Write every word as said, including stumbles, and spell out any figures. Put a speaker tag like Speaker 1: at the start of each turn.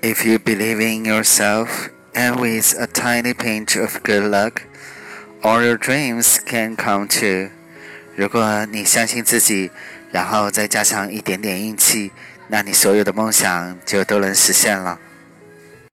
Speaker 1: If you believe in yourself, and with a tiny pinch of good luck, all your dreams can come true. 如果你相信自己，然后再加上一点点运气，那你所有的梦想就都能实现了。